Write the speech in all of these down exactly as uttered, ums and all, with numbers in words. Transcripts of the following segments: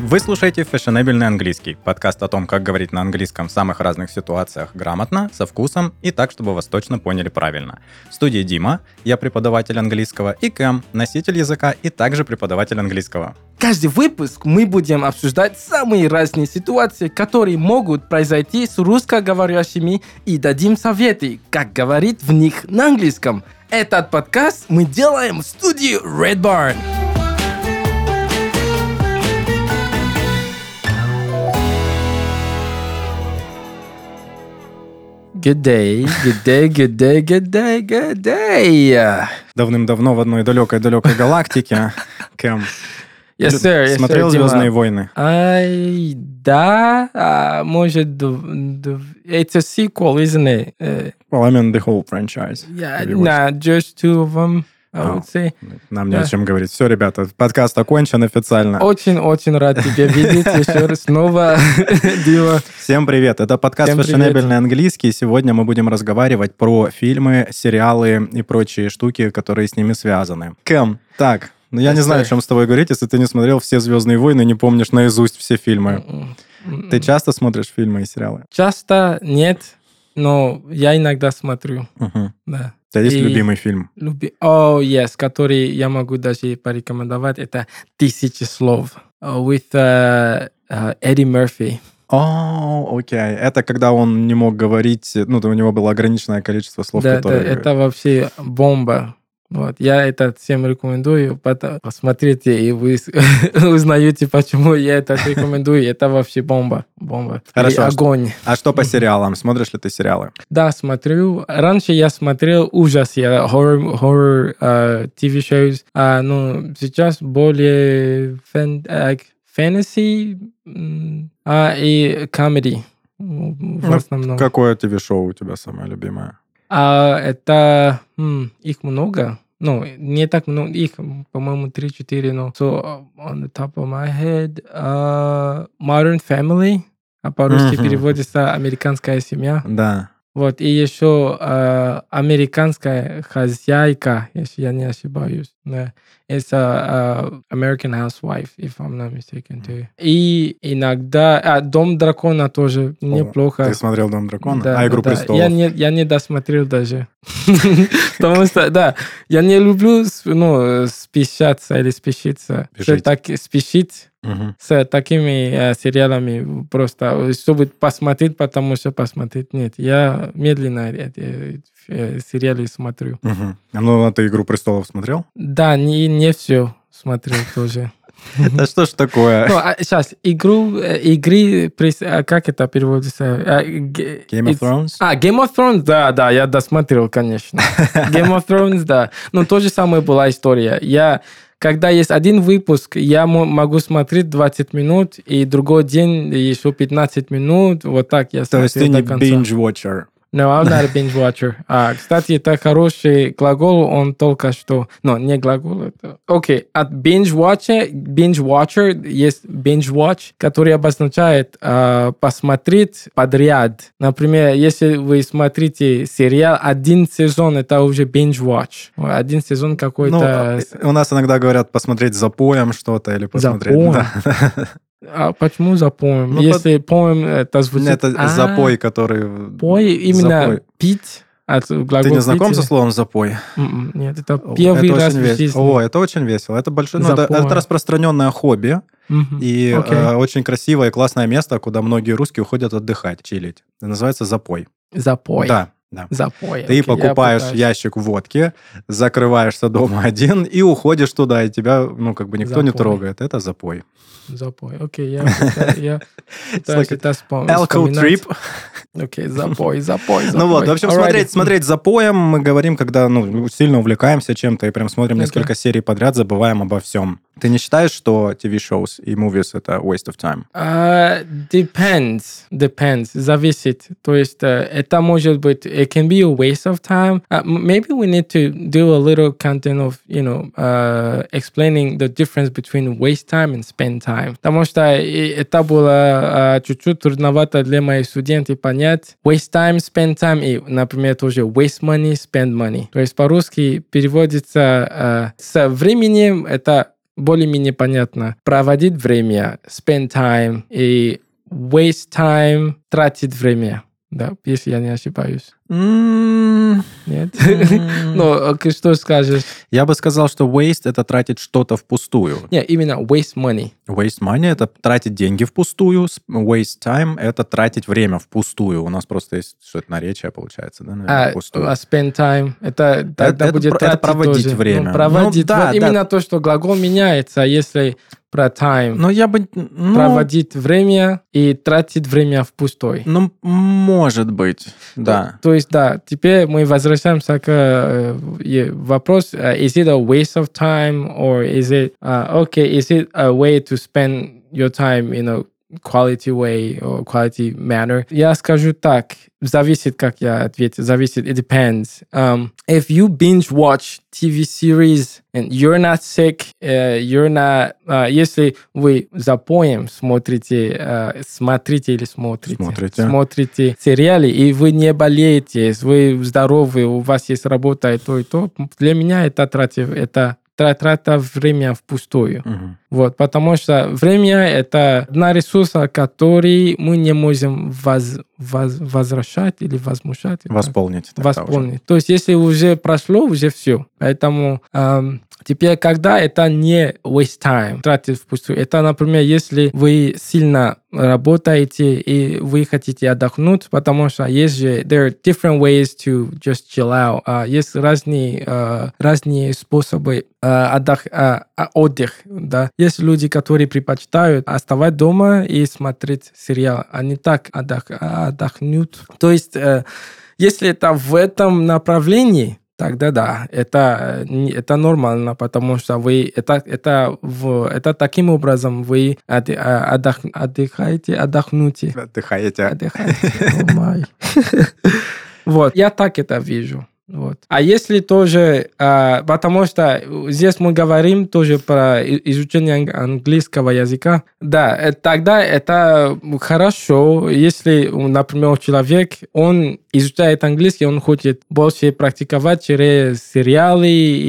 Вы слушаете «Фешенебельный английский» — подкаст о том, как говорить на английском в самых разных ситуациях грамотно, со вкусом и так, чтобы вас точно поняли правильно. В студии Дима, я преподаватель английского, и Кэм, носитель языка и также преподаватель английского. Каждый выпуск мы будем обсуждать самые разные ситуации, которые могут произойти с русскоговорящими, и дадим советы, как говорить в них на английском. Этот подкаст мы делаем в студии Red Barn. Good day, good day, good day, good day, good day. Давным-давно в одной далекой-далекой галактике. Кэм, Yes, sir. Yes, смотрел sir, «Звездные Дима. войны»? Ай, да, а, может, д- д- it's a sequel, isn't it? Uh, Well, I mean the whole franchise. yeah, Have you watched? nah, just two of them, I Oh. would say. Нам не Да. о чем говорить. Все, ребята, подкаст окончен официально. Очень-очень рад тебя видеть еще раз снова, Дима. Всем привет! Это подкаст Всем привет. «Фешенебельный английский». Сегодня мы будем разговаривать про фильмы, сериалы и прочие штуки, которые с ними связаны. Кэм, так, ну я Yes, не знаю, sir. о чем с тобой говорить, если ты не смотрел все «Звездные войны», не помнишь наизусть все фильмы. Ты часто смотришь фильмы и сериалы? Часто нет, но я иногда смотрю, Угу. да. У тебя есть И- любимый фильм? Люби... О, yes, который я могу даже порекомендовать, это «Тысячи слов» uh, with uh, uh, Эдди Мерфи. О, окей. Это когда он не мог говорить, ну, у него было ограниченное количество слов, Да, да, которые... это вообще бомба. Вот. Я это всем рекомендую. Потом посмотрите, и вы с- узнаете, почему я это рекомендую. Это вообще бомба. Бомба. Хорошо, И а что- огонь. А что по сериалам? Смотришь ли ты сериалы? Да, смотрю. Раньше я смотрел ужасы, horror, horror uh, ти ви-shows, а, ну, сейчас более фэн, э, fantasy м, а, и comedy в Ну, основном. Какое ТВ-шоу у тебя самое любимое? А это м, их много. Ну, не так много. Их, по-моему, три-четыре. Но so, on the top of my head, uh, Modern Family. А по-русски Мгм. переводится «Американская семья». Да. Вот, и еще э, «Американская хозяйка», если я не ошибаюсь. Да. Это э, American Housewife, if I'm not mistaken, too. И иногда... А, «Дом дракона» тоже неплохо. Ты смотрел «Дом дракона»? Да, а «Игру да, да. престолов»? Я не, я не досмотрел даже. Потому что, да, я не люблю ну, спешаться или спешиться. Спешить. Так, спешить Мгм. с такими э, сериалами просто, чтобы посмотреть, потому что посмотреть. Нет, я медленно эти э, сериалы смотрю. Мгм. А ну, а ты «Игру престолов» смотрел? Да, не, не все смотрел тоже. Да что ж такое? Ну, а сейчас, игру, э, игры, прес- а как это переводится? А, ге- Game of it's- Thrones? А, Game of Thrones, да, да, я досмотрел, конечно. Game of Thrones, да. Ну, то же самое была история. Я, когда есть один выпуск, я мо- могу смотреть двадцать минут, и другой день еще пятнадцать минут, вот так я То есть ты смотрел не до конца. binge-watcher? No, I'm not a binge watcher. А, кстати, это хороший глагол, он только что... Ну, не глагол, это... Окей, от binge watcher, binge watcher есть binge watch, который обозначает а, посмотреть подряд. Например, если вы смотрите сериал, один сезон, это уже binge watch. Один сезон Ну, какой-то... у нас иногда говорят посмотреть за поем что-то или посмотреть... поем? Да. А почему за поем? Ну, Если поем, это звучит... Это А, запой, который... Пой, именно Запой. пить. От глагола Ты не знаком пить. со словом «запой»? М-м, Нет, это О, первый это раз очень в вес- жизни. О, это очень весело. Это большое, ну, это, Запой. это распространенное хобби Мгм. и Окей. э, очень красивое и классное место, куда многие русские уходят отдыхать, чилить. Это называется запой. Запой. Да, да. Запой. Ты Окей, я покупаешь пытаюсь. ящик водки, закрываешься дома один и уходишь туда, и тебя, ну, как бы никто не Запой. трогает. Это запой. Запой. Окей, я пытаюсь- я пытаюсь like это вспом- Alcohol вспоминать. trip. Окей, запой, запой, запой. Ну вот, в общем, Alrighty. смотреть, смотреть запоем мы говорим, когда ну, сильно увлекаемся чем-то и прям смотрим Окей. несколько серий подряд, забываем обо всем. Ты не считаешь, что ти ви-shows и movies — это waste of time? Uh, depends. Depends. Зависит. То есть, э, это может быть, it can be a waste of time. Uh, m- maybe we need to do a little content of, you know, uh, explaining the difference between waste time and spend time. Потому что и- это было uh, чуть-чуть трудновато для моих студентов понять. Waste time, spend time и, например, тоже waste money, spend money. То есть, по-русски переводится uh, со временем это более-менее понятно. Проводить время, spend time, и waste time, тратить время. Да, если я не ошибаюсь. Mm. Нет? Ну, что скажешь? Я бы сказал, что waste — это тратить что-то впустую. Нет, именно waste money. Waste money — это тратить деньги впустую. Waste time — это тратить время впустую. У нас просто есть что-то наречие, получается, да? Наверное, А, впустую. а spend time, это тогда это, будет это тратить проводить тоже. время. Ну, проводить. Ну, да, вот да. именно то, что глагол меняется, если про time. Но я бы... Ну, проводить время и тратить время впустую. Ну, может быть, да. То, то есть, да, теперь мы возвращаемся к э, вопросу, uh, is it a waste of time or is it, uh, okay, is it a way to spend your time in a quality way or quality manner? Я скажу так, зависит, как я ответил, зависит, it depends. Um, if you binge watch ти ви series and you're not sick, uh, you're not, uh, если вы запоем смотрите, uh, смотрите или смотрите, смотрите, смотрите сериалы, и вы не болеете, вы здоровы, у вас есть работа и то, и то, для меня это трата, это трата время впустую. Угу. Вот, потому что время — это одна ресурса, который мы не можем воз, воз, возвращать или возмущать. Восполнить. Восполнить. То есть, если уже прошло, уже все. Поэтому эм, теперь, когда это не waste time, тратить впустую, это, например, если вы сильно работаете и вы хотите отдохнуть, потому что есть же, there are different ways to just chill out. Uh, есть разные, uh, разные способы uh, отдых, uh, отдых, да. Есть люди, которые предпочитают оставать дома и смотреть сериал, а не так отдох, отдохнуть. То есть, uh, если это в этом направлении, тогда да, это, это нормально, потому что вы это, это, в, это таким образом вы отдых, отдыхаете, отдохнете. Отдыхаете. Отдыхаете. Вот, я так это вижу. Вот. А если тоже, а, потому что здесь мы говорим тоже про изучение английского языка, да, тогда это хорошо, если, например, человек, он изучает английский, он хочет больше практиковать через сериалы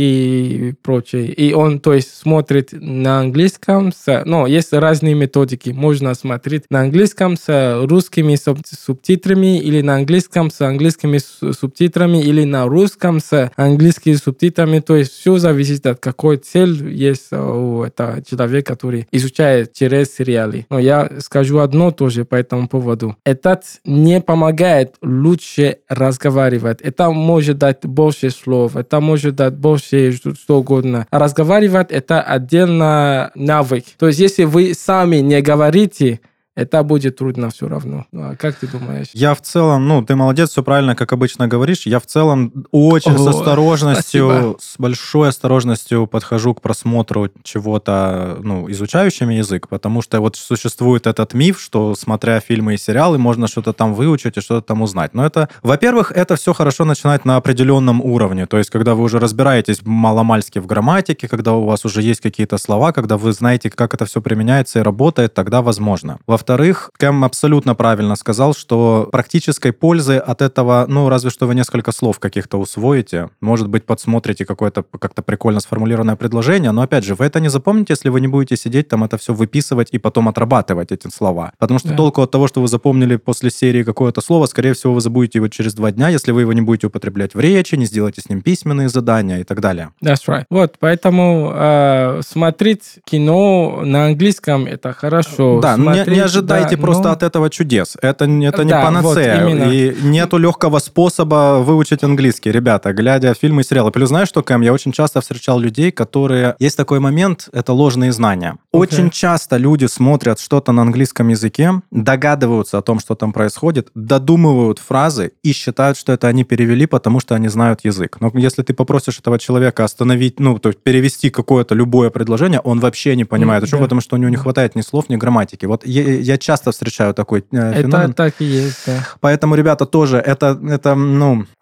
и прочее, и он, то есть, смотрит на английском, с, ну, есть разные методики, можно смотреть на английском с русскими субтитрами или на английском с английскими субтитрами или на русском с английскими субтитрами, то есть все зависит от какой цель есть у этого человека, который изучает через сериалы. Но я скажу одно тоже по этому поводу. Это не помогает лучше разговаривать. Это может дать больше слов, это может дать больше что угодно. А разговаривать — это отдельно навык. То есть если вы сами не говорите, это будет трудно все равно. А как ты думаешь? Я в целом, ну, ты молодец, все правильно, как обычно говоришь. Я в целом очень О, с осторожностью, спасибо. с большой осторожностью подхожу к просмотру чего-то, ну, изучающим язык, потому что вот существует этот миф, что, смотря фильмы и сериалы, можно что-то там выучить и что-то там узнать. Но это, во-первых, это все хорошо начинать на определенном уровне, то есть когда вы уже разбираетесь маломальски в грамматике, когда у вас уже есть какие-то слова, когда вы знаете, как это все применяется и работает, тогда возможно. Во-вторых, Кэм абсолютно правильно сказал, что практической пользы от этого, ну, разве что вы несколько слов каких-то усвоите, может быть, подсмотрите какое-то как-то прикольно сформулированное предложение, но, опять же, вы это не запомните, если вы не будете сидеть там это все выписывать и потом отрабатывать эти слова. Потому что да. толку от того, что вы запомнили после серии какое-то слово, скорее всего, вы забудете его через два дня, если вы его не будете употреблять в речи, не сделаете с ним письменные задания и так далее. That's right. Вот, поэтому э, смотреть кино на английском — это хорошо. Да, смотреть, не, не ожидайте да, просто но... от этого чудес. Это, это не да, панацея. Вот, и нету легкого способа выучить английский, ребята, глядя фильмы и сериалы. Плюс знаешь что, Кэм, я очень часто встречал людей, которые... Есть такой момент, это ложные знания. Okay. Очень часто люди смотрят что-то на английском языке, догадываются о том, что там происходит, додумывают фразы и считают, что это они перевели, потому что они знают язык. Но если ты попросишь этого человека остановить, ну, то есть перевести какое-то любое предложение, он вообще не понимает, mm, да. потому что у него не хватает ни слов, ни грамматики. Вот я, я часто встречаю такой э, феномен. Это так и есть, да. Поэтому, ребята, тоже это, это, ну,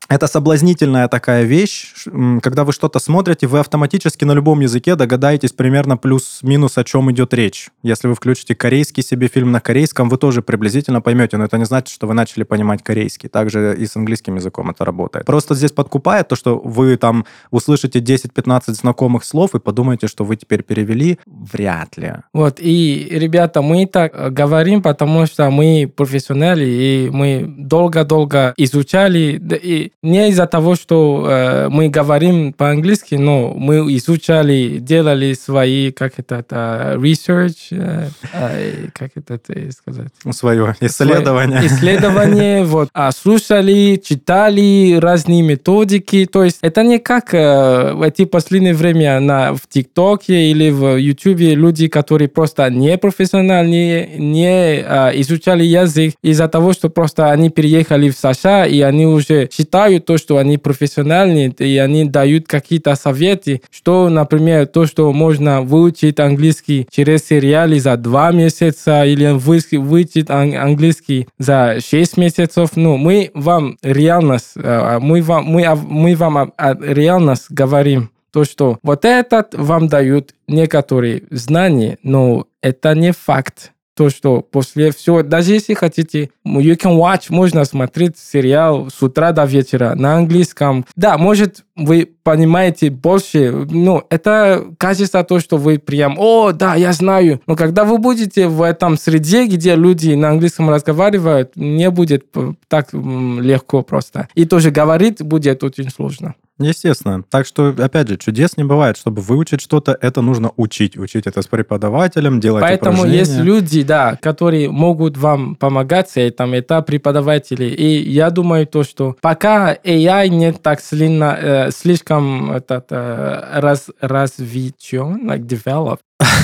это соблазнительная такая вещь, когда вы что-то смотрите, вы автоматически на любом языке догадаетесь примерно плюс-минус, о чем идет речь. Если вы включите корейский себе фильм на корейском, вы тоже приблизительно поймете, но это не значит, что вы начали понимать корейский. Также и с английским языком это работает. Просто здесь подкупает то, что вы там услышите десять-пятнадцать знакомых слов и подумаете, что вы теперь перевели. Вряд ли. Вот, и, ребята, мы так говорим, потому что мы профессионалы, и мы долго-долго изучали, и не из-за того, что э, мы говорим по-английски, но мы изучали, делали свои, как это, это research, э, э, как это сказать? Свое исследование. Свое исследование, вот, а, слушали, читали разные методики, то есть это не как э, в эти последнее время на, в ТикТоке или в Ютубе люди, которые просто не профессиональные, не э, изучали язык из-за того, что просто они переехали в США, и они уже считают то, что они профессиональные, и они дают какие-то советы, что, например, то, что можно выучить английский через сериалы за два месяца или выучить английский за шесть месяцев. Ну, мы вам реальность, мы вам, мы, мы вам реальность говорим, то, что вот этот вам дают некоторые знания, но это не факт. То, что после всего, даже если хотите, you can watch, можно смотреть сериал с утра до вечера на английском. Да, может, вы понимаете больше, ну, это кажется то, что вы прям, о, да, я знаю. Но когда вы будете в этом среде, где люди на английском разговаривают, не будет так легко просто. И тоже говорить будет очень сложно. Естественно. Так что, опять же, чудес не бывает. Чтобы выучить что-то, это нужно учить. Учить это с преподавателем, делать Поэтому упражнения. есть люди, да, которые могут вам помогать с этим. Это преподаватели. И я думаю, то, что пока эй ай не так сильно, э, слишком этот, э, раз, развитен, like developed.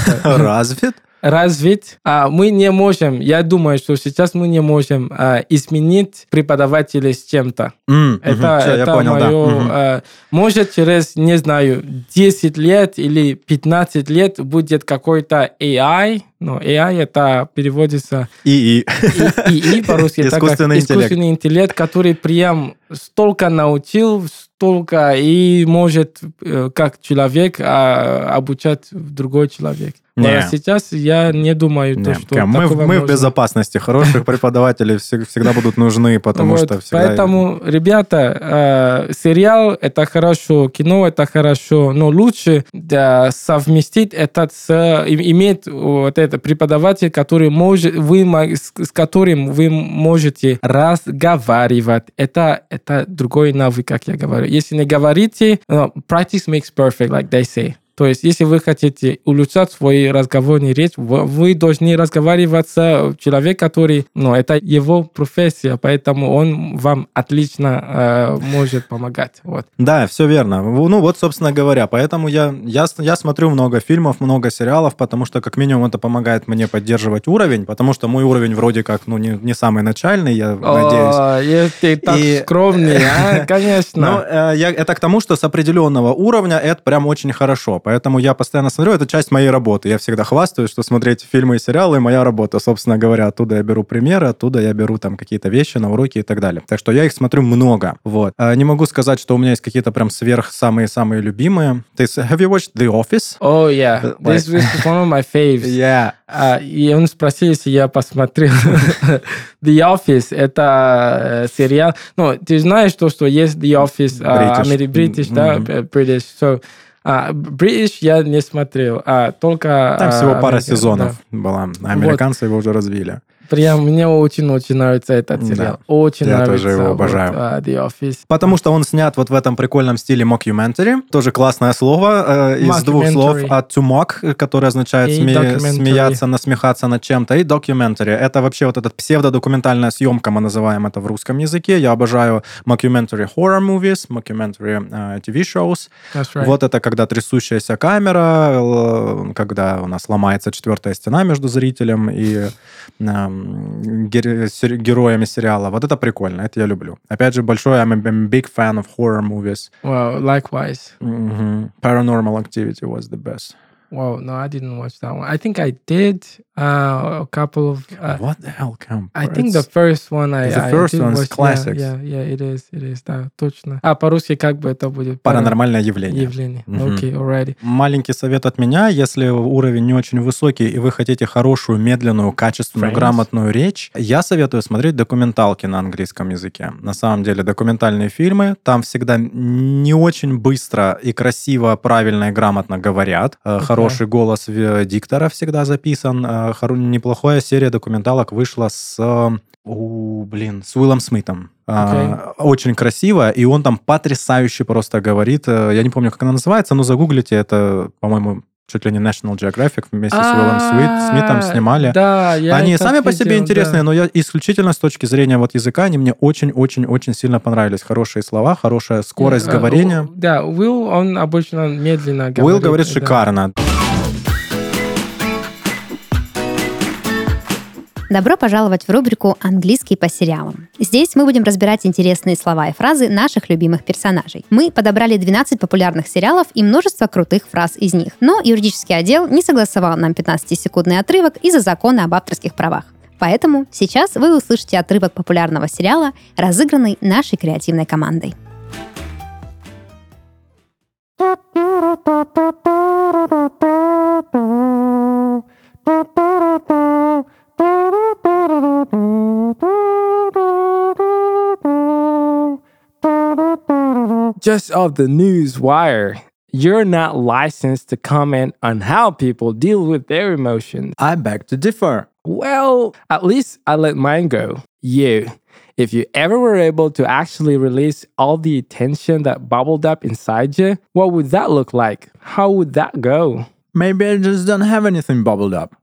Развит? развить, а мы не можем, я думаю, что сейчас мы не можем а, изменить преподавателя с чем-то. Mm, это mm-hmm. Все, это понял, мое... да. Mm-hmm. А, может, через, не знаю, десять лет или пятнадцать лет будет какой-то эй ай, но эй ай это переводится... ИИ. ИИ по-русски. Искусственный интеллект. Искусственный интеллект, который прям столько научил, столько и может как человек обучать другой человек. Не. А сейчас я не думаю, не. то, что мы, мы можно. в безопасности. Хороших преподавателей всегда будут нужны, потому вот, что всегда... Поэтому, ребята, э, сериал – это хорошо, кино – это хорошо, но лучше да, совместить это с... иметь вот это преподаватель, который может, вы, с, с которым вы можете разговаривать. Это, это другой навык, как я говорю. Если не говорите, uh, practice makes perfect, like they say. То есть, если вы хотите улучшать свой разговорный речь, вы должны разговаривать с человеком, который, ну, это его профессия, поэтому он вам отлично э, может помогать. Вот. Да, все верно. Ну, вот, собственно говоря, поэтому я, я, я смотрю много фильмов, много сериалов, потому что, как минимум, это помогает мне поддерживать уровень, потому что мой уровень вроде как, ну, не, не самый начальный, я О, надеюсь. Ты так И... скромный, а? Конечно. Ну, э, я, это к тому, что с определенного уровня это прям очень хорошо. Поэтому я постоянно смотрю, это часть моей работы. Я всегда хвастаюсь, что смотреть фильмы и сериалы – моя работа. Собственно говоря, оттуда я беру примеры, оттуда я беру там какие-то вещи на уроки и так далее. Так что я их смотрю много. Вот. А, не могу сказать, что у меня есть какие-то прям сверх самые-самые любимые. Ты, have you watched The Office? Oh, yeah. This, this is one of my faves. Yeah. А, и он спросил, если я посмотрел The Office. Это сериал. Ну, ты знаешь то, что есть The Office, British, British да, British. So, А, British я не смотрел, а только... Там всего а, пара американ, сезонов да. была. Американцы вот. Его уже развили. Прям мне очень-очень нравится этот сериал. Да. Очень я нравится. Я тоже его обожаю. Вот, uh, The Office. Потому что он снят вот в этом прикольном стиле mockumentary. Тоже классное слово. Э, из двух слов. От to mock, которое означает сме- смеяться, насмехаться над чем-то. И documentary. Это вообще вот эта псевдодокументальная съемка, мы называем это в русском языке. Я обожаю mockumentary horror movies, mockumentary uh, ти ви-shows. Right. Вот это когда трясущаяся камера, когда у нас ломается четвертая стена между зрителем и... Uh, героями сериала. Вот это прикольно, это я люблю. Опять же, большой I'm a big fan of horror movies. Wow, likewise. Mm-hmm. Paranormal Activity was the best. Whoa, no, I didn't watch that one. I think I did uh, a couple of... Uh, What the hell, Cam? I think the first one I, The I first did one is watch. classics. Yeah, yeah, yeah, it is, it is, да, точно. А по-русски как бы это будет? Паранормальное явление. Явление. Мгм. Окей, alrighty. Маленький совет от меня, если уровень не очень высокий, и вы хотите хорошую, медленную, качественную, Friends. грамотную речь, я советую смотреть документалки на английском языке. На самом деле, документальные фильмы, там всегда не очень быстро и красиво, правильно и грамотно говорят. Э, Хороший голос в- диктора всегда записан. Э, хоро- Неплохая серия документалок вышла с... э, у, блин, с Уиллом Смитом. А, Очень красиво, и он там потрясающе просто говорит. Э, Я не помню, как она называется, но загуглите, это, по-моему, чуть ли не National Geographic вместе с Уиллом Смит- Смитом снимали. Да, я Они это сами по себе видел, интересные, да. но я исключительно с точки зрения вот языка, они мне очень-очень-очень сильно понравились. Хорошие слова, хорошая скорость Э, говорения. у- Да, Уилл, он обычно медленно говорит. Уилл говорит да. шикарно. Добро пожаловать в рубрику «Английский по сериалам». Здесь мы будем разбирать интересные слова и фразы наших любимых персонажей. Мы подобрали двенадцать популярных сериалов и множество крутых фраз из них. Но юридический отдел не согласовал нам пятнадцатисекундный отрывок из-за закона об авторских правах. Поэтому сейчас вы услышите отрывок популярного сериала, разыгранный нашей креативной командой. Just off the news wire, you're not licensed to comment on how people deal with their emotions. I beg to differ. Well, at least I let mine go. You. If you ever were able to actually release all the tension that bubbled up inside you, what would that look like? How would that go? Maybe I just don't have anything bubbled up.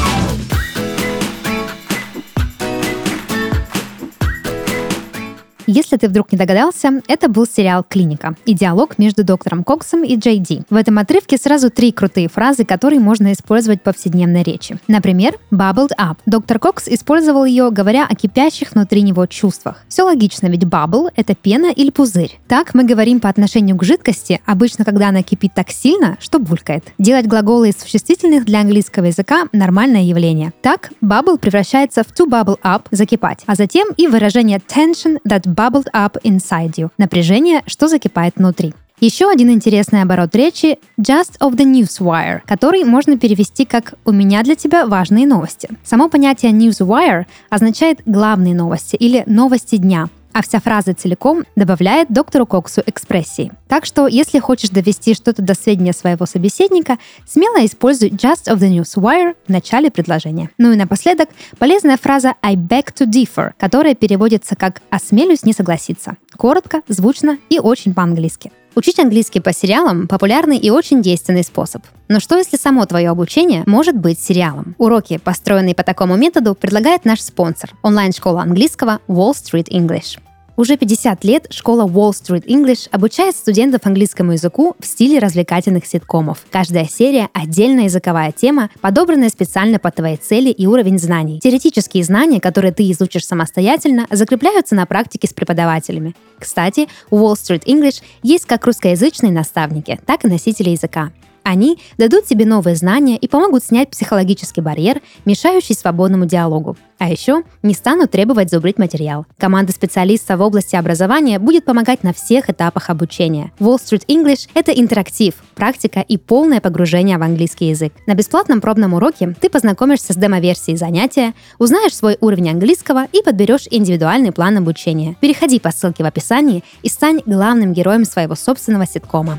Если ты вдруг не догадался, это был сериал «Клиника» и диалог между доктором Коксом и Джей Ди. В этом отрывке сразу три крутые фразы, которые можно использовать в повседневной речи. Например, «bubbled up». Доктор Кокс использовал ее, говоря о кипящих внутри него чувствах. Все логично, ведь bubble — это пена или пузырь. Так мы говорим по отношению к жидкости, обычно когда она кипит так сильно, что булькает. Делать глаголы из существительных для английского языка — нормальное явление. Так, bubble превращается в to bubble up — закипать, а затем и выражение tension that bubbled up inside you — напряжение, что закипает внутри. Еще один интересный оборот речи — just of the newswire, который можно перевести как «у меня для тебя важные новости». Само понятие newswire означает «главные новости» или «новости дня», а вся фраза целиком добавляет доктору Коксу экспрессии. Так что, если хочешь довести что-то до сведения своего собеседника, смело используй just of the newswire в начале предложения. Ну и напоследок, полезная фраза I beg to differ, которая переводится как «осмелюсь не согласиться». Коротко, звучно и очень по-английски. Учить английский по сериалам – популярный и очень действенный способ. Но что, если само твое обучение может быть сериалом? Уроки, построенные по такому методу, предлагает наш спонсор – онлайн-школа английского Wall Street English. Уже пятьдесят лет школа Wall Street English обучает студентов английскому языку в стиле развлекательных ситкомов. Каждая серия — отдельная языковая тема, подобранная специально под твои цели и уровень знаний. Теоретические знания, которые ты изучишь самостоятельно, закрепляются на практике с преподавателями. Кстати, у Wall Street English есть как русскоязычные наставники, так и носители языка. Они дадут тебе новые знания и помогут снять психологический барьер, мешающий свободному диалогу. А еще не станут требовать зубрить материал. Команда специалистов в области образования будет помогать на всех этапах обучения. Wall Street English — это интерактив, практика и полное погружение в английский язык. На бесплатном пробном уроке ты познакомишься с демо-версией занятия, узнаешь свой уровень английского и подберешь индивидуальный план обучения. Переходи по ссылке в описании и стань главным героем своего собственного ситкома.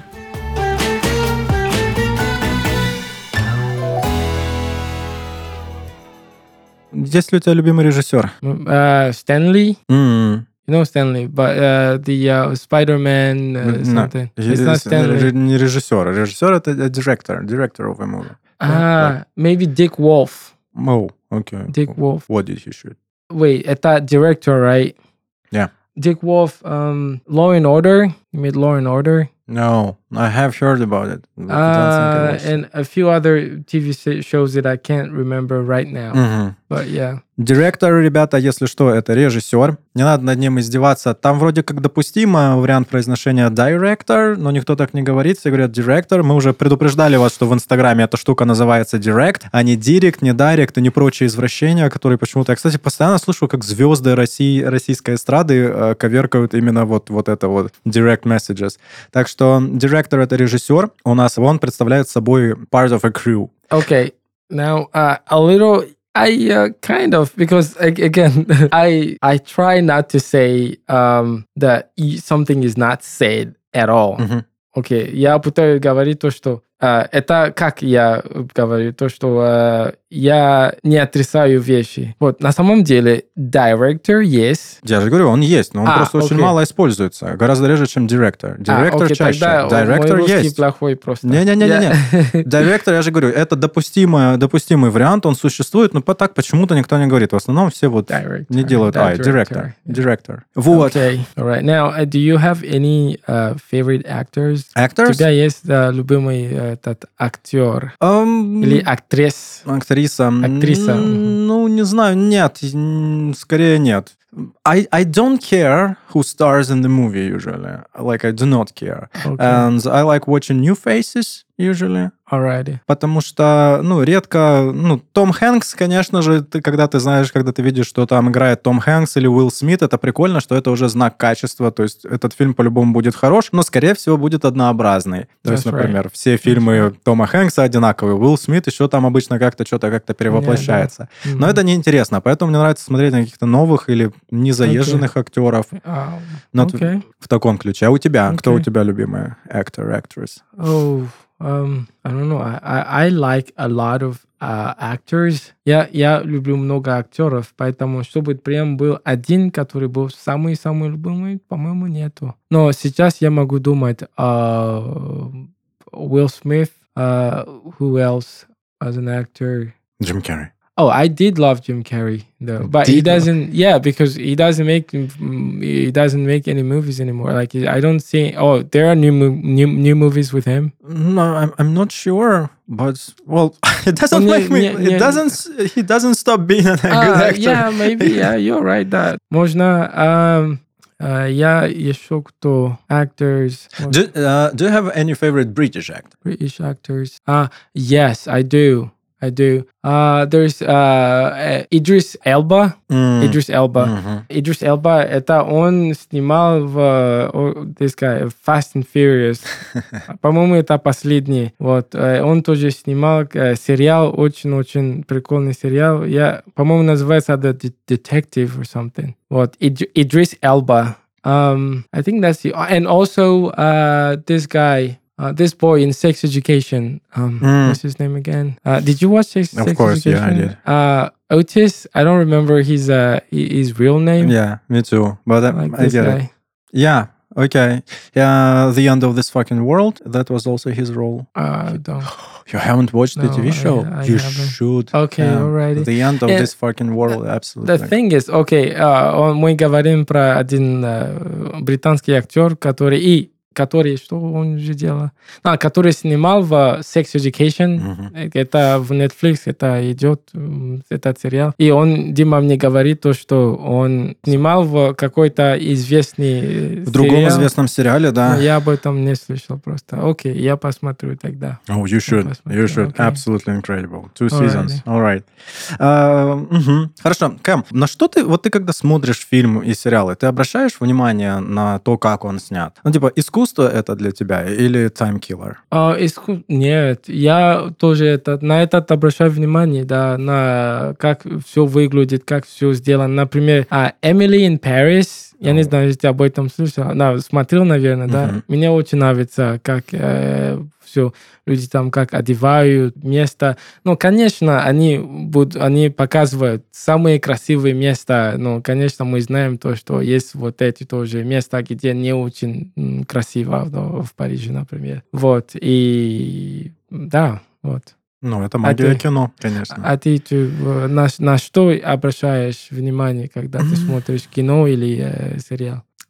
Есть ли у тебя любимый режиссер? Uh, Stanley. М. You know Stanley, but uh, the uh, Spider-Man uh, No. something. It's not Stanley. Ре- Не режиссер. Режиссер — это director. Director of a movie. Ah, maybe Dick Wolf. Oh, okay. Dick Wolf. What did he shoot? Wait, это director, right? Yeah. Dick Wolf, um, Law and Order. He made Law and Order. No. I have heard about it. but I don't think I Uh, watched it. and a few other T V se- shows that I can't remember right now. Мгм. But yeah. Директор, ребята, если что, это режиссер. Не надо над ним издеваться. Там вроде как допустимо вариант произношения director, но никто так не говорит. Все говорят director. Мы уже предупреждали вас, что в Инстаграме эта штука называется direct, а не direct, не direct и не прочие извращения, которые почему-то... Я, кстати, постоянно слышу, как звезды России, российской эстрады э, коверкают именно вот, вот это вот direct messages. Так что director — это режиссер. У нас он представляет собой part of a crew. Okay. Now, uh, a little. I uh, kind of because ag- again, I I try not to say um, that y- something is not said at all. Мгм. Окей, я пытаюсь говорить то, что э, это как я говорю, то, что э, я не отрицаю вещи. Вот, на самом деле, director есть. Я же говорю, он есть, но он А, просто очень окей. мало используется. Гораздо реже, чем директор. А, Директор окей, чаще. тогда Директор мой русский есть. плохой просто. Не-не-не-не. Директор, я же говорю, это допустимый, допустимый вариант, он существует, но по- так почему-то никто не говорит. В основном все вот Director, не делают. да, А, директор. director. Директор. Вот. Okay, all right. Now, uh, do you have any uh, favorite actors? У Actors? тебя есть uh, любимый uh, этот актер Ам, или актрис? Актриса. Актриса. М, Ну, не знаю, нет. м, Скорее нет. I, I don't care who stars in the movie usually. Like, I do not care. Okay. And I like watching new faces usually. Alrighty. Потому что, ну, редко... Ну, Том Хэнкс, конечно же, ты, когда ты знаешь, когда ты видишь, что там играет Том Хэнкс или Уилл Смит, это прикольно, что это уже знак качества. То есть этот фильм по-любому будет хорош, но, скорее всего, будет однообразный. То есть, That's right. например, все фильмы Тома Хэнкса одинаковые. Уилл Смит еще там обычно как-то что-то как-то перевоплощается. Но Мгм. это неинтересно, поэтому мне нравится смотреть на каких-то новых или незаезженных актеров. Um, Но т- okay. в таком ключе. А у тебя? Кто у Окей. тебя любимый actor, actress? Oh, um, I don't know. I, I, I like a lot of uh, actors. Я, я люблю много актеров, поэтому чтобы прям был один, который был самый-самый любимый, по-моему, нету. Но сейчас я могу думать, uh, Will Smith, uh, who else as an actor? Джим Керри. Oh, I did love Jim Carrey though, but he Did love- doesn't. Yeah, because he doesn't make mm, he doesn't make any movies anymore. Like I don't see. Oh, there are new mo- new new movies with him. No, I'm, I'm not sure, but well, it doesn't Ну, make не- me. не- It не- doesn't. s- He doesn't stop being a good Uh, actor. yeah, maybe. Yeah, you're right. That можно. Um, uh, я еще кто actors, Do, uh, do you have any favorite British actor? British actors. Uh yes, I do. I do. Uh, there's uh, uh, Idris Elba. Mm. Idris Elba. Мгм. Идрис Элба, это он снимал в о, this guy, Fast and Furious. По-моему, это последний. Вот. э, Он тоже снимал э, сериал, очень-очень прикольный сериал. Я, по-моему, называется The De- Detective or something. Вот. Ид- Идрис Элба. Um, I think that's the... And also uh, this guy... Uh, this boy in Sex Education. Um, Mm. What's his name again? Uh, did you watch Sex, Of Sex course, yeah, I Education? did. Uh, Otis. I don't remember his uh hi- his real name. Yeah, me too. But I, Like I this get guy. it. Yeah. Okay. Yeah. The End of This Fucking World. That was also his role. Uh, I don't. You haven't watched the No, T V I- show? I you haven't. should. Okay, Yeah. alrighty. The End of And This Fucking World. Absolutely. The thing is, okay, uh, он- мы говорим про один uh, британский актер, который и который, что он же делал? А, который снимал в Sex Education. Мгм. Это в Netflix, это идет, м, этот сериал. И он, Дима, мне говорит то, что он снимал в какой-то известный В другом сериал. известном сериале, да. Но я об этом не слышал просто. Окей, я посмотрю тогда. Oh, you should. посмотрю, You should. окей. Absolutely incredible. Two Alrighty. seasons. All right. А, мгм. Хорошо. Кэм, на что ты, вот ты когда смотришь фильм и сериалы, ты обращаешь внимание на то, как он снят? Ну, типа, искусство это для тебя или time killer? А, иску- Нет, я тоже это, на это обращаю внимание, да, на как все выглядит, как все сделано. Например, а, Emily in Paris, я не О. знаю, если ты об этом слышал, да, смотрел, наверное, да. Мгм. Мне очень нравится, как все люди там как одевают место. Ну, конечно, они будут, они показывают самые красивые места. Ну, конечно, мы знаем то, что есть вот эти тоже места, где не очень м, красиво, ну, в Париже, например. Вот, и да, вот. Ну, это магия ты- кино, конечно. А ты ты, э, на, на что обращаешь внимание, когда ты смотришь кино или э, сериал?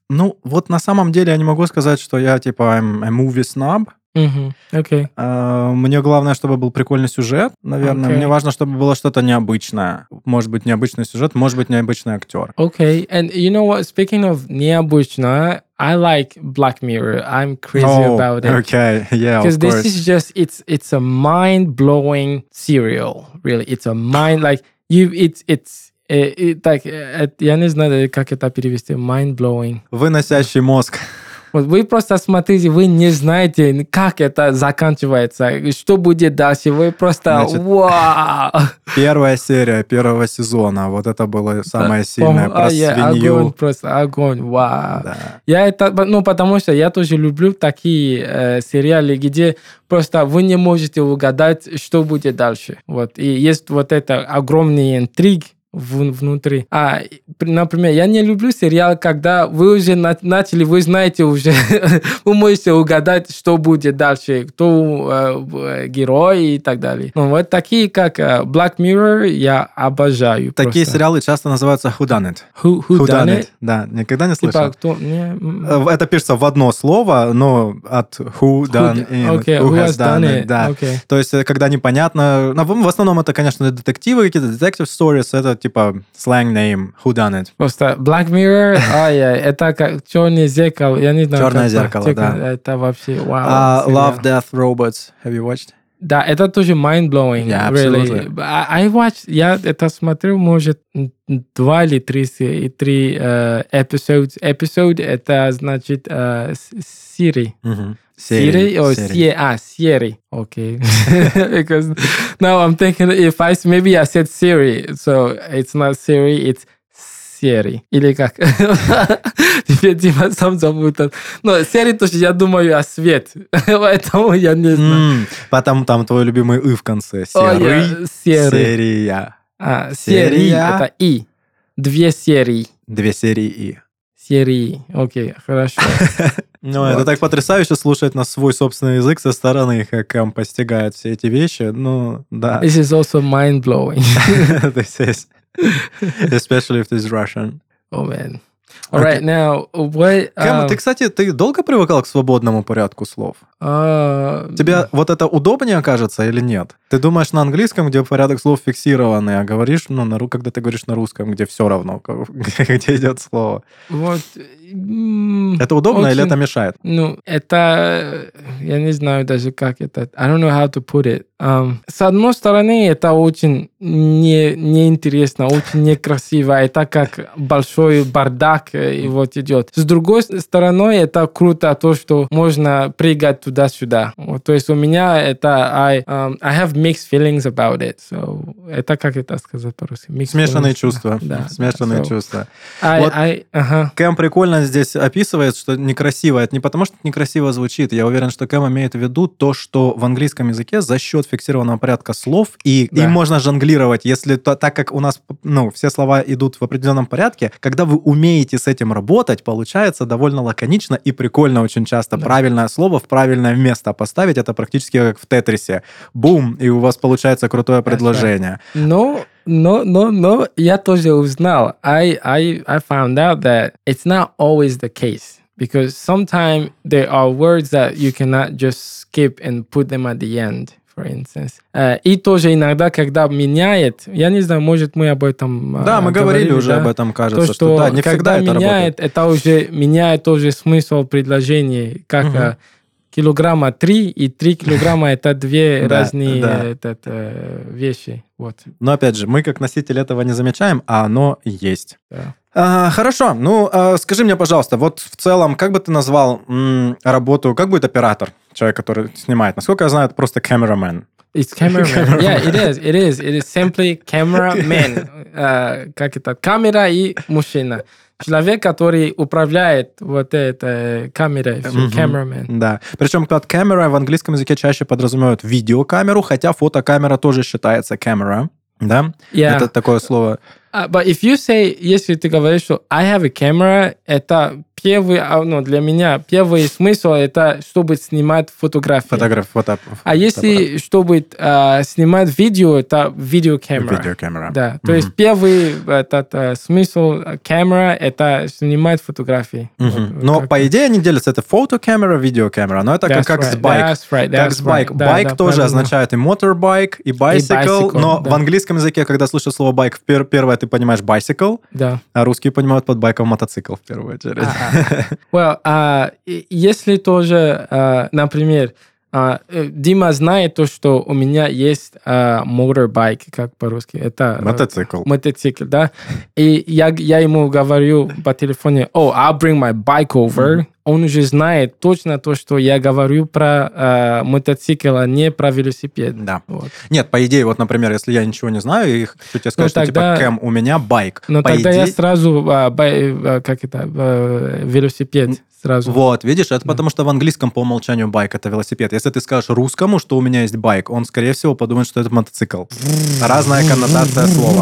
Ну, вот на самом деле я не могу сказать, что я, типа, I'm a movie snob. Mm-hmm. Okay. Uh, мне главное, чтобы был прикольный сюжет, наверное. Okay. Мне важно, чтобы было что-то необычное. Может быть, необычный сюжет, может быть, необычный актер. Okay, and you know what? Speaking of необычно, I like Black Mirror. I'm crazy oh, about it. Okay, yeah, Because of this course. is just it's it's a mind-blowing serial. Really, it's a mind like you. It's it's. It, it, так, я не знаю, как это перевести. Mind-blowing. Выносящий мозг. Вот вы просто смотрите, вы не знаете, как это заканчивается, что будет дальше. Вы просто Значит, вау! Первая серия первого сезона. Вот это было самое сильное про а, я, свинью. Огонь, просто огонь, вау. Да. Я это, ну, потому что я тоже люблю такие э, сериалы, где просто вы не можете угадать, что будет дальше. Вот. И есть вот это огромный интриг внутри. А, например, я не люблю сериал, когда вы уже на- начали, вы знаете уже, вы можете угадать, что будет дальше, кто э, герой и так далее. Но вот такие, как э, Black Mirror, я обожаю. Такие просто. сериалы часто называются whodunit. Who, who, who done, done it? Да, никогда не слышал? Типа, кто? Не... Это пишется в одно слово, но от who done in, okay, who, who has has done, done it. it. Да. Okay. То есть, когда непонятно... Ну, в основном это, конечно, детективы, какие-то detective stories, это типа slang name, who done it. Просто Black Mirror, ай, это как черное зеркало, я не знаю. Черное зеркало, да. Это вообще вау. Uh, Love, Death, Robots, have you watched? Да, это тоже mind-blowing. Yeah, really. absolutely. I, I watched, я это смотрел, может, два или три, три uh, episodes. Episode, это значит uh, серии. Mm-hmm. Siri or Siri? Ah, Siri. Okay. Because now I'm thinking if I maybe I said Siri, so it's not Siri, it's Siri. Или как? Теперь типа сам запутал. Но Siri тоже я думаю о свет, поэтому я не знаю. Mm, потом там твой любимый «и» в конце. Oh, yeah. Siri. Серия. А, серии это «и». Две серии. Две серии «и». Серии. Окей, хорошо. Ну, Вот. это так потрясающе слушать на свой собственный язык со стороны, как он постигает все эти вещи. Ну, да. This is also mind-blowing. This is, especially if it's Russian. Oh, man. All right, now, what... Кэм, um, ты, кстати, ты долго привыкал к свободному порядку слов? uh, Тебе вот это удобнее кажется или нет? Ты думаешь на английском, где порядок слов фиксированный, а говоришь, ну, на, ру- когда ты говоришь на русском, где все равно, где идет слово. Вот... м, Это удобно или очень- это мешает? Ну, это... Я не знаю даже, как это... I don't know how to put it. Um, с одной стороны, это очень не, неинтересно, очень некрасиво. Это как большой бардак э, и вот идет. С другой стороны, это круто, то, что можно прыгать туда-сюда. Вот, то есть у меня это... I, um, I have mixed feelings about it. So, это как это сказать по-русски? Mixed Смешанные feelings. чувства. Да, Смешанные да. So, чувства. I, Вот. I, ага. Кэм прикольно здесь описывает, что некрасиво. Это не потому, что это некрасиво звучит. Я уверен, что Кэм имеет в виду то, что в английском языке за счет фиксированного порядка слов, и Да. им можно жонглировать, если то, так как у нас ну, все слова идут в определенном порядке, когда вы умеете с этим работать, получается довольно лаконично и прикольно очень часто. Да. Правильное слово в правильное место поставить, это практически как в Тетрисе. Бум, и у вас получается крутое предложение. Но, но, но, но я тоже узнал. I, I, I found out that it's not always the case. Because sometimes there are words that you cannot just skip and put them at the end, for instance. Uh, и тоже иногда, когда меняет, я не знаю, может, мы об этом Да, uh, мы говорили уже да? об этом, кажется, То, что, что да, не всегда когда это меняет, работает. это уже меняет тоже смысл предложения, как Мгм. uh, килограмма три и три килограмма это две Да, разные да. этот, э, вещи. Вот. Но опять же, мы как носители этого не замечаем, а оно есть. Да. А, хорошо, ну а, скажи мне, пожалуйста, вот в целом, как бы ты назвал м, работу, как будет оператор, человек, который снимает? Насколько я знаю, это просто cameraman. It's cameraman. Yeah, it is. It is. It is simply cameraman. Uh, как это? Камера и мужчина. Человек, который управляет вот этой камерой. всё, Мгм. Cameraman. Да. Причем под камера в английском языке чаще подразумевают видеокамеру, хотя фотокамера тоже считается camera. Да? Yeah. Это такое слово. Uh, but if you say, если ты говоришь, что I have a camera, это первый, ну, для меня первый смысл это чтобы снимать фотографии. Фотограф, фото, а если чтобы uh, снимать видео, это видеокамера. Видеокамера. Да. Mm-hmm. То есть первый этот uh, смысл камера это снимать фотографии. Mm-hmm. Вот, но как... по идее они делятся это фотокамера, видеокамера, но это that's как, как right. с байк. That's right. Как That's с байк. Right. Байк да, да, тоже правильно. означает и motorbike, и bicycle, и bicycle но да. в английском языке, когда слышишь слово байк, первое ты понимаешь bicycle, да. а русские понимают под байком мотоцикл в первую очередь. Uh-huh. Well, uh, если тоже, uh, например, uh, Дима знает то, что у меня есть uh, motorbike, как по-русски, это мотоцикл. Uh, мотоцикл, да. И я, я ему говорю по телефону, oh, I'll bring my bike over. Mm-hmm. Он уже знает точно то, что я говорю про э, мотоцикл, а не про велосипед. Да. Вот. Нет, по идее, вот, например, если я ничего не знаю, и хочу тебе сказать, ну, что тогда... типа, Кэм, у меня байк. Но по тогда идее... я сразу, а, бай, а, как это, а, велосипед сразу. Вот, видишь, это да. потому что в английском по умолчанию байк – это велосипед. Если ты скажешь русскому, что у меня есть байк, он, скорее всего, подумает, что это мотоцикл. Разная коннотация слова.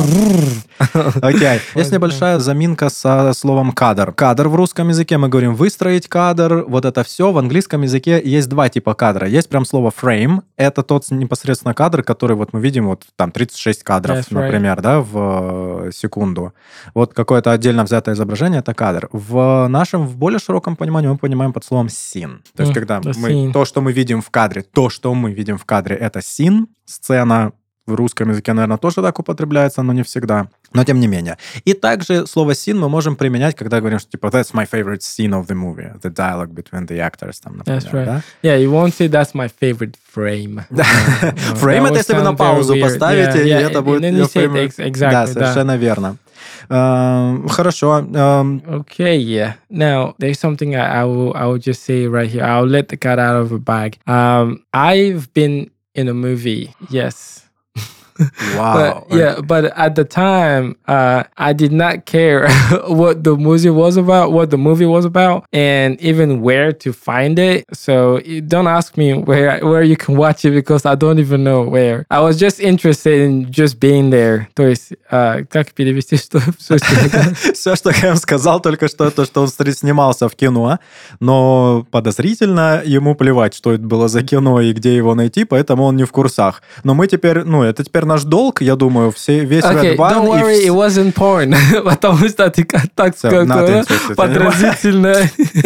Окей. Есть небольшая заминка со словом кадр. Кадр в русском языке мы говорим выстроить кадр, вот это все. В английском языке есть два типа кадра. Есть прям слово frame, это тот непосредственно кадр, который вот мы видим, вот там тридцать шесть кадров, That's например, right. да, в секунду. Вот какое-то отдельно взятое изображение – это кадр. В нашем, в более широком понимании мы понимаем под словом scene. То есть, Mm, когда the мы, scene. то, что мы видим в кадре, то, что мы видим в кадре, это scene, сцена. В русском языке, наверное, тоже так употребляется, но не всегда. Но тем не менее. И также слово scene мы можем применять, когда говорим, что типа that's my favorite scene of the movie, the dialogue between the actors, там, например. That's right. Да? Yeah, you won't say that's my favorite frame. Frame это если вы на паузу поставите, и это будет... Да, совершенно верно. Хорошо. Okay, yeah. Now, there's something I, I will I will just say right here. I'll let the cat out of the bag. Um, I've been in a movie, yes. Wow. But, yeah, but at the time, uh, I did not care what the movie was about, what the movie was about, and even where to find it. So don't ask me where where you can watch it because I don't even know where. I was just interested in just being there. То есть, uh, как перевести, что все, все, что Кэм сказал, только что то, что он снимался в кино, но подозрительно ему плевать, что это было за кино и где его найти, поэтому он не в курсах. Но мы теперь, ну, это теперь наш долг, я думаю, все, весь okay, Red One... Don't worry, и... it wasn't porn. Потому что ты так сказал, подразительно.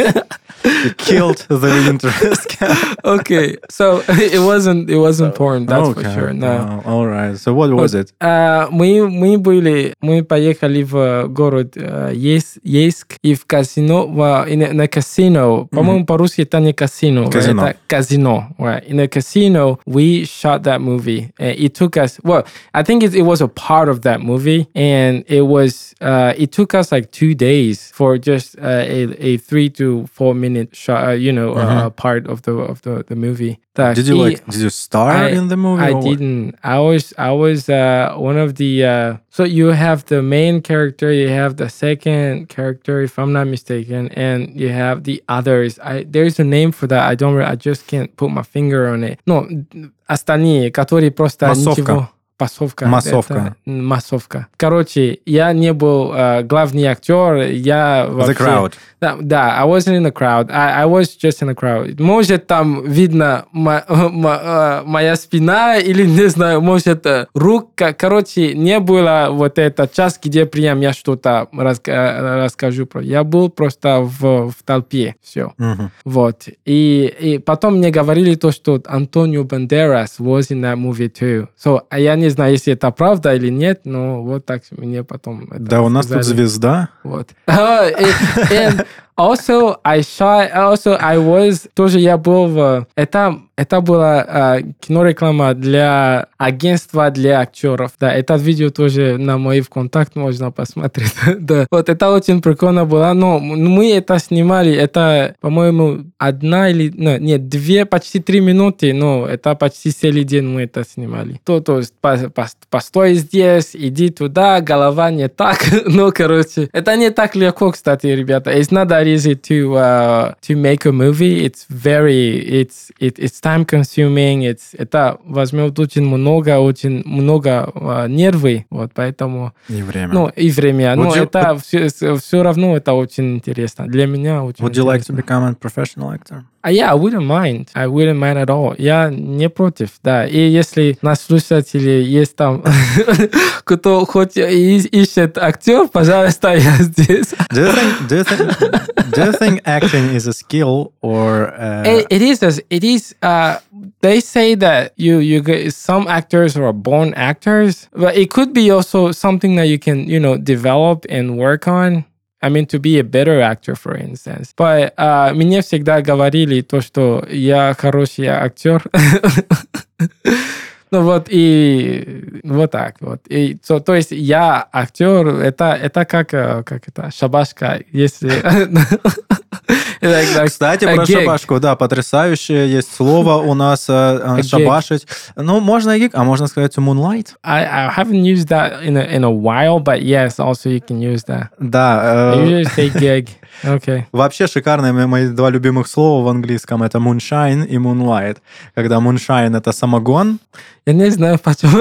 It killed the interest. Okay, so it wasn't it wasn't porn, that's okay. for sure. No. Oh, all right. So what was it? Uh, мы мы были, мы поехали в город uh, Ейск и в казино, в, in, на казино. По-моему, mm-hmm. по-русски это не казино, казино. Это казино. Right. In a casino, we shot that movie. And it took us, well, I think it, it was a part of that movie, and it was, uh, it took us like two days for just uh, a, a three to four minute shot, uh, you know, mm-hmm. uh, part of the of the, the movie. Так, did you like? Did you star I, in the movie? I or didn't. I was I was uh, one of the. Uh, so you have the main character, you have the second character, if I'm not mistaken, and you have the others. I there's a name for that. I don't. I just can't put my finger on it. No, остальные, которые просто ничего. Пасовка. Массовка. Массовка. Короче, я не был uh, главный актер, я вообще... The crowd. Да, да, I wasn't in the crowd. I, I was just in the crowd. Может, там видно мо, мо, моя спина или, не знаю, может, рука. Короче, не было вот эта часть, где прям я что-то раска- расскажу. Про. Я был просто в, в толпе. Все. Mm-hmm. Вот. И, и потом мне говорили то, что Антонио Бандерас was in that movie too. So, я не знаю, если это правда или нет, но вот так мне потом это Да, у нас сказали. тут звезда. Вот. And also, I shot, also, I was, тоже я был в... Это, это была uh, кинореклама для агентства для актеров. Да, это видео тоже на мой ВКонтакт можно посмотреть. Да. Вот это очень прикольно было. Но мы это снимали, это, по-моему, одна или... Ну, нет, две, почти три минуты, но это почти целый день мы это снимали. То, то есть, по, по, постой здесь, иди туда, голова не так. Ну, короче, это не так легко, кстати, ребята. It's not that easy to uh, to make a movie. It's very it's it, it's time consuming. It's это возьмет очень много очень много uh, нервы, вот поэтому. И время. Ну и время. Would Но you, это все, все равно это очень интересно для меня. Очень would you like to интересно. become a professional actor? А я, I wouldn't mind. I wouldn't mind at all. Я не против, да. И если на слушателей есть там, кто хоть ищет актер, пожалуйста, я здесь. Do you think, do you think, do you think acting is a skill or... Uh... It, it is. A, it is. Uh, they say that you you get, some actors are born actors, but it could be also something that you can you know develop and work on. I mean, to be a better actor, for instance. But uh, мне всегда говорили то, что я хороший актер. Ну вот, и вот так вот. И, то, то есть я актер, это, это как, как это, шабашка, если... Кстати, про шабашку, да, потрясающее есть слово у нас шабашить. Ну, можно и гиг, а можно сказать moonlight. I, I haven't used that in a, in a while, but yes, also you can use that. Да. I usually say gig. Okay. Вообще шикарные мои два любимых слова в английском это moonshine и moonlight. Когда moonshine это самогон. Я не знаю, почему.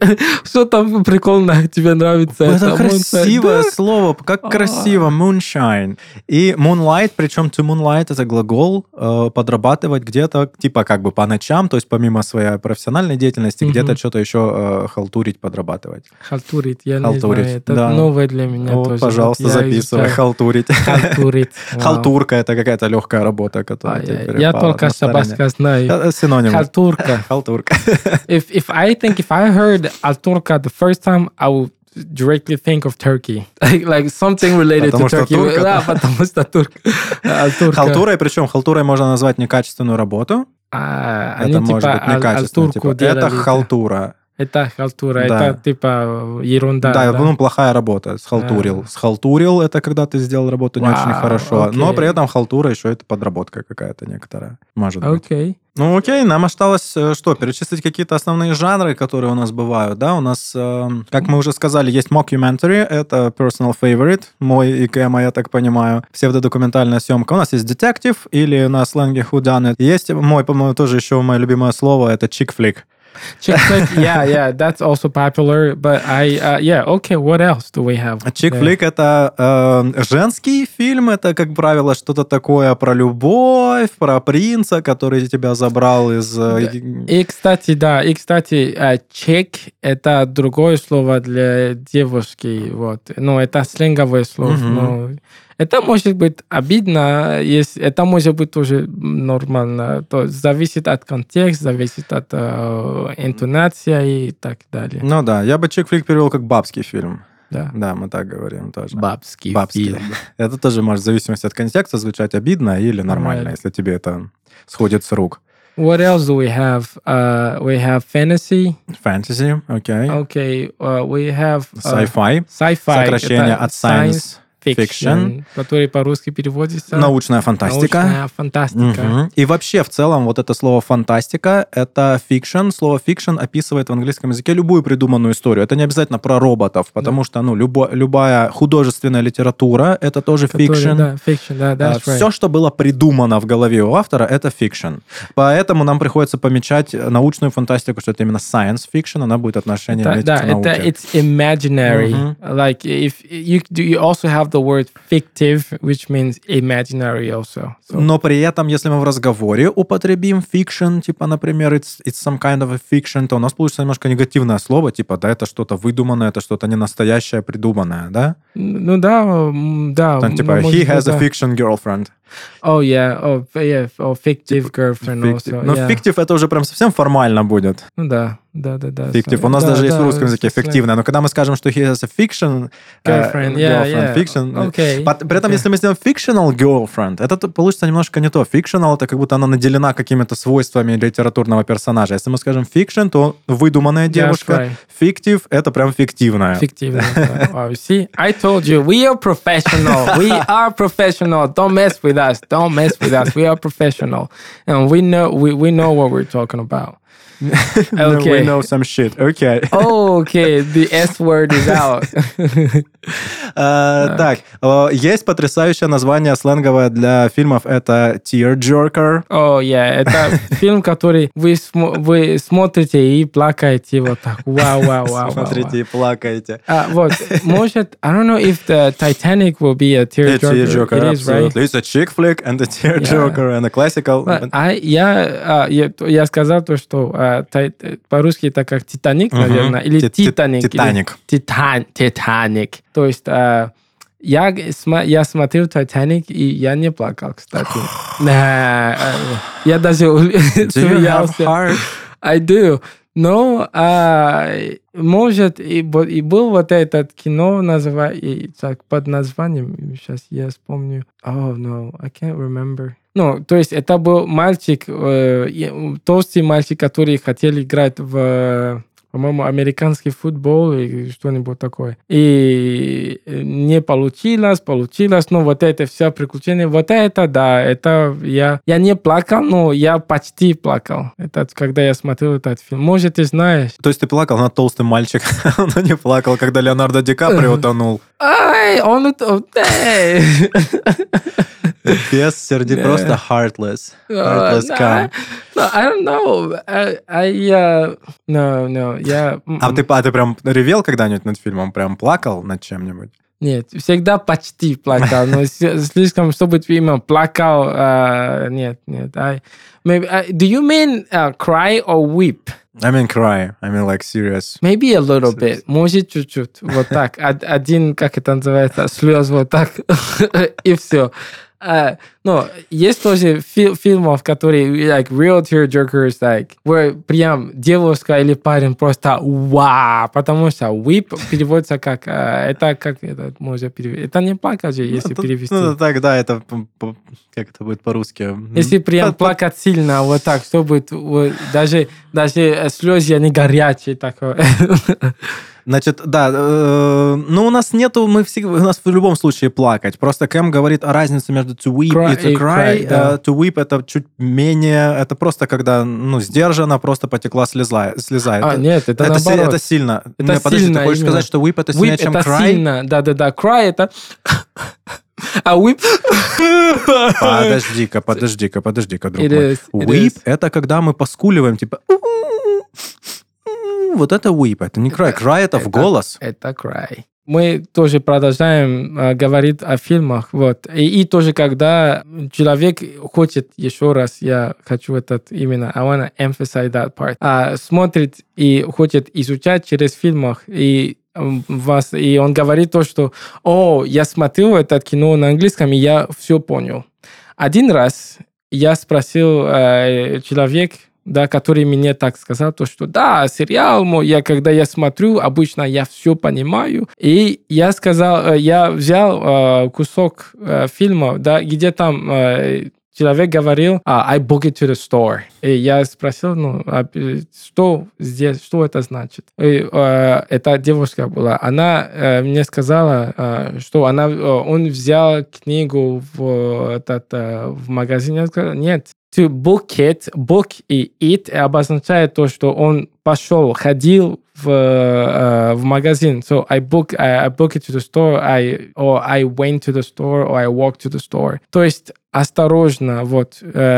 Что там прикольно тебе нравится? Это, это красивое слово. Как красиво. Moonshine. И moonlight, причем to moonlight это глагол э, подрабатывать где-то, типа как бы по ночам, то есть помимо своей профессиональной деятельности, mm-hmm. где-то что-то еще э, халтурить, подрабатывать. Халтурить, я халтурить, не знаю. Это да. новое для меня вот, тоже. Пожалуйста, вот, записывай. Халтурить. Халтурить. Халтурка это какая-то легкая работа, которая а, я, я только шабашка знаю. Синоним. Халтурка. Халтурка. If if I think if I heard Alturka the first time, I would directly think of Turkey, like like something related потому to Turkey. Турка, да, потому что турк. Халтурой, причем халтурой можно назвать некачественную работу. А, это они может типа быть некачественно. Алтурку Типа, это халтура. Это халтура, да. это типа ерунда. Да, да? ну плохая работа. Схалтурил. А. Схалтурил это когда ты сделал работу не Вау, очень хорошо. окей. Но при этом халтура еще это подработка какая-то некоторая. Может быть. Окей. Ну окей, нам осталось что, перечислить какие-то основные жанры, которые у нас бывают, да, у нас, э, как мы уже сказали, есть mockumentary, это personal favorite, мой и Кэма, я так понимаю, псевдодокументальная съемка, у нас есть detective, или на сленге whodunit, есть мой, по-моему, тоже еще мое любимое слово, это chick flick. Chick flick, yeah, yeah, that's also popular, but I, uh, yeah, okay, what else do we have? Chick flick yeah. это э, женский фильм, это, как правило, что-то такое про любовь, про принца, который тебя забрал из... И, кстати, да, и, кстати, chick это другое слово для девушки, вот, ну, это сленговое слово, mm-hmm. но... Это может быть обидно, если это может быть тоже нормально. То зависит от контекста, зависит от э, интонации и так далее. Ну да, я бы чик-флик перевел как бабский фильм. Да. Да, мы так говорим тоже. Бабский, бабский фильм. Это тоже может в зависимости от контекста звучать обидно или нормально, right. если тебе это сходит с рук. What else do we have? Uh, we have fantasy. Fantasy, окей. Okay. Okay, uh, we have... Uh, sci-fi. Sci-fi. Сокращение от science. science. Fiction, который по-русски переводится. Научная фантастика. Научная фантастика. Угу. И вообще, в целом, вот это слово фантастика, это fiction. Слово fiction описывает в английском языке любую придуманную историю. Это не обязательно про роботов, потому да. что, ну, любо, любая художественная литература, это тоже который, fiction. Да, fiction, да, that's right. Все, что было придумано в голове у автора, это fiction. Поэтому нам приходится помечать научную фантастику, что это именно science fiction, она будет отношение иметь да, к науке. Это it's imaginary. Uh-huh. Like, if you, you also have the word fictive, which means imaginary also. So. Но при этом, если мы в разговоре употребим fiction, типа, например, it's, it's some kind of a fiction, то у нас получится немножко негативное слово, типа, да, это что-то выдуманное, это что-то не настоящее, придуманное, да? Ну да, да. Там, типа, he has a fiction girlfriend. Oh, yeah, oh, yeah, oh, fictive girlfriend fictive. also. Но yeah. fictive это уже прям совсем формально будет. Ну да, да, да, да. Fictive. У нас да, даже да, есть в русском да, языке фиктивное, но когда мы скажем, что he has a fiction girlfriend, uh, yeah, girlfriend, yeah. fiction, okay. При этом, okay. если мы сделаем fictional girlfriend, это получится немножко не то. Fictional это как будто она наделена какими-то свойствами литературного персонажа. Если мы скажем fiction, то выдуманная девушка. Right. Fictive это прям фиктивная. Фиктивная. Wow, you see, I told you, we are professional. We are professional. Don't mess with us. Don't mess with us. We are professional, and we know we, we know what we're talking about. Okay. We know some shit. Okay. Oh, okay. The S word is out. А, Так, о, есть потрясающее название сленговое для фильмов, это tearjerker. О, я, это фильм, который вы, смо- вы смотрите и плакаете вот так. Вау, вау, вау. Смотрите и плакаете. А, вот, может, I don't know if the Titanic will be a A tearjerker. tearjerker, It is, right? absolutely. It's a chick flick and a tearjerker and a classical. But I, я, а, я, я сказал то, что а, тай- по-русски это как Титаник, Мгм. наверное, или Ти- ти- Титаник. или Титаник. Титан, Титаник. То есть а, я, сма- я смотрел Титаник, и я не плакал, кстати. Да, а, я даже Do you have смеялся. heart? I do. Но, а, может, и, бо- и был вот этот кино называ- и так, под названием, сейчас я вспомню. Oh, no, I can't remember. Ну, то есть это был мальчик, э, и- толстый мальчик, который хотел играть в, по-моему, американский футбол или что-нибудь такое. И не получилось, получилось, но вот это все приключения, вот это, да, это я, я не плакал, но я почти плакал. Это когда я смотрел этот фильм. Может, ты знаешь. То есть ты плакал над толстым мальчиком, но не плакал, когда Леонардо Ди Каприо утонул. Ай, он... ут- эй. Без сердец, Да. просто heartless. Uh, Heartless nah, cum. no, I don't know. I, I uh, no, no, я... А ты, а ты прям ревел когда-нибудь над фильмом? Прям плакал над чем-нибудь? Нет, всегда почти плакал, но с- слишком, чтобы именно плакал, а, нет, нет. I, maybe, I, do you mean uh, cry or weep? I mean cry. I mean like serious. Maybe a little bit. Может, чуть-чуть. Вот так. Од- Один, как это называется, слез вот так. И все. А, но есть тоже фи- фильмов, которые like real tearjerkers, like, where прям девушка или парень просто вау, потому что weep переводится как, а, это как это можно перевести. Это не плакать же, если Ну, перевести. Ну, так, да, это п- п- как это будет по-русски? Если прям По- по- плакать сильно, вот так, чтобы вот, даже, даже слезы, они горячие, такое. Значит, да, э, ну у нас нету, мы всегда, у нас в любом случае плакать. Просто Кэм говорит о разнице между to weep Cry и to и cry. cry, да. Э, To weep это чуть менее, это просто когда, ну, сдержанно просто потекла слеза. слеза. А, это, нет, это это, си- наоборот. это сильно. Это Не, подожди, сильно ты хочешь именно. сказать, что weep это Weep сильнее, чем это cry? сильно, да-да-да. Cry это... А weep... Подожди-ка, подожди-ка, подожди-ка, друг It мой. is, it Weep is. это когда мы поскуливаем, типа... Вот это weep, это не cry. Cry это в это- голос. Это cry. Мы тоже продолжаем э, говорить о фильмах. Вот. И, и тоже, когда человек хочет, еще раз, я хочу этот именно, I want to emphasize that part, а, смотрит и хочет изучать через фильмах, и м, вас, и он говорит то, что «О, я смотрел это кино на английском, и я все понял». Один раз я спросил э, человека, да, который мне так сказал, то, что да, сериал мой, я, когда я смотрю, обычно я все понимаю. И я сказал, э, я взял э, кусок э, фильма, да, где там э, человек говорил, а, I book it to the store. И я спросил, ну, а, э, что здесь, что это значит? И, э, эта девушка была, она э, мне сказала, э, что она, э, он взял книгу в, этот, э, в магазине. Я сказал, нет, to book it, book и it обозначает то, что он пошел, ходил в, э, в магазин. So I book, I, I book it to the store, I, or I went to the store, or I walked to the store. То есть осторожно, вот.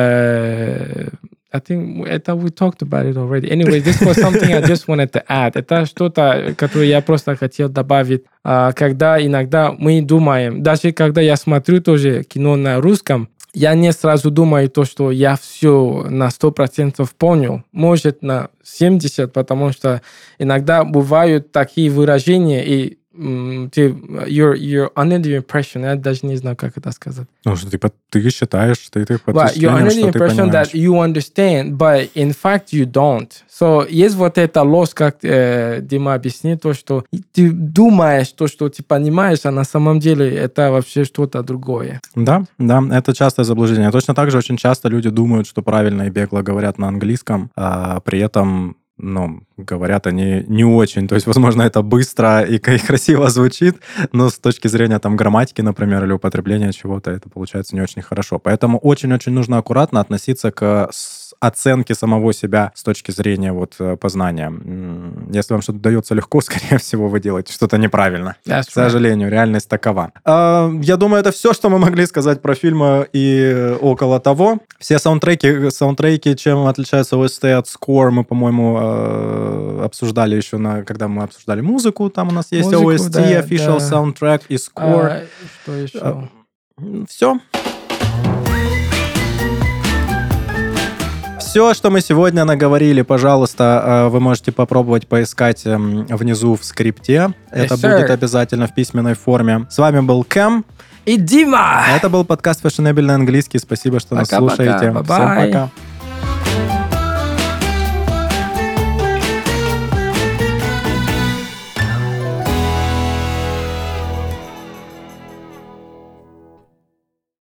Э, I think это we talked about it already. Anyway, this was something I just wanted to add. Это что-то, которое я просто хотел добавить. А, когда иногда мы думаем, даже когда я смотрю тоже кино на русском, я не сразу думаю то, что я все на сто процентов понял. Может, на семьдесят, потому что иногда бывают такие выражения, и м, ты, you're, you're under the impression, я даже не знаю, как это сказать. Ну, что ты, под- ты считаешь, что ты под But you're впечатлением, under the что ты impression понимаешь. that you understand, but in fact you don't. So, есть вот эта ложь, как э, Дима объяснил, то, что ты думаешь то, что ты понимаешь, а на самом деле это вообще что-то другое. Да, да, это частое заблуждение. Точно так же очень часто люди думают, что правильно и бегло говорят на английском, а при этом ну, говорят они не очень. То есть, возможно, это быстро и красиво звучит, но с точки зрения там грамматики, например, или употребления чего-то, это получается не очень хорошо. Поэтому очень-очень нужно аккуратно относиться к оценке самого себя с точки зрения вот познания. Если вам что-то дается легко, скорее всего, вы делаете что-то неправильно. That's К сожалению, right. реальность такова. Я думаю, это все, что мы могли сказать про фильмы и около того. Все саундтреки, саундтреки, чем отличаются о эс ти от score, мы, по-моему, обсуждали еще, на, когда мы обсуждали музыку. Там у нас есть Музыку, о эс ти, да, official да. soundtrack и score. А, что еще? Все. Все, что мы сегодня наговорили, пожалуйста, вы можете попробовать поискать внизу в скрипте. Yes, это sir. будет обязательно в письменной форме. С вами был Кэм. И Дима! Это был подкаст «Фashionable английский». Спасибо, что нас Пока-пока. слушаете. Bye-bye. Всем пока.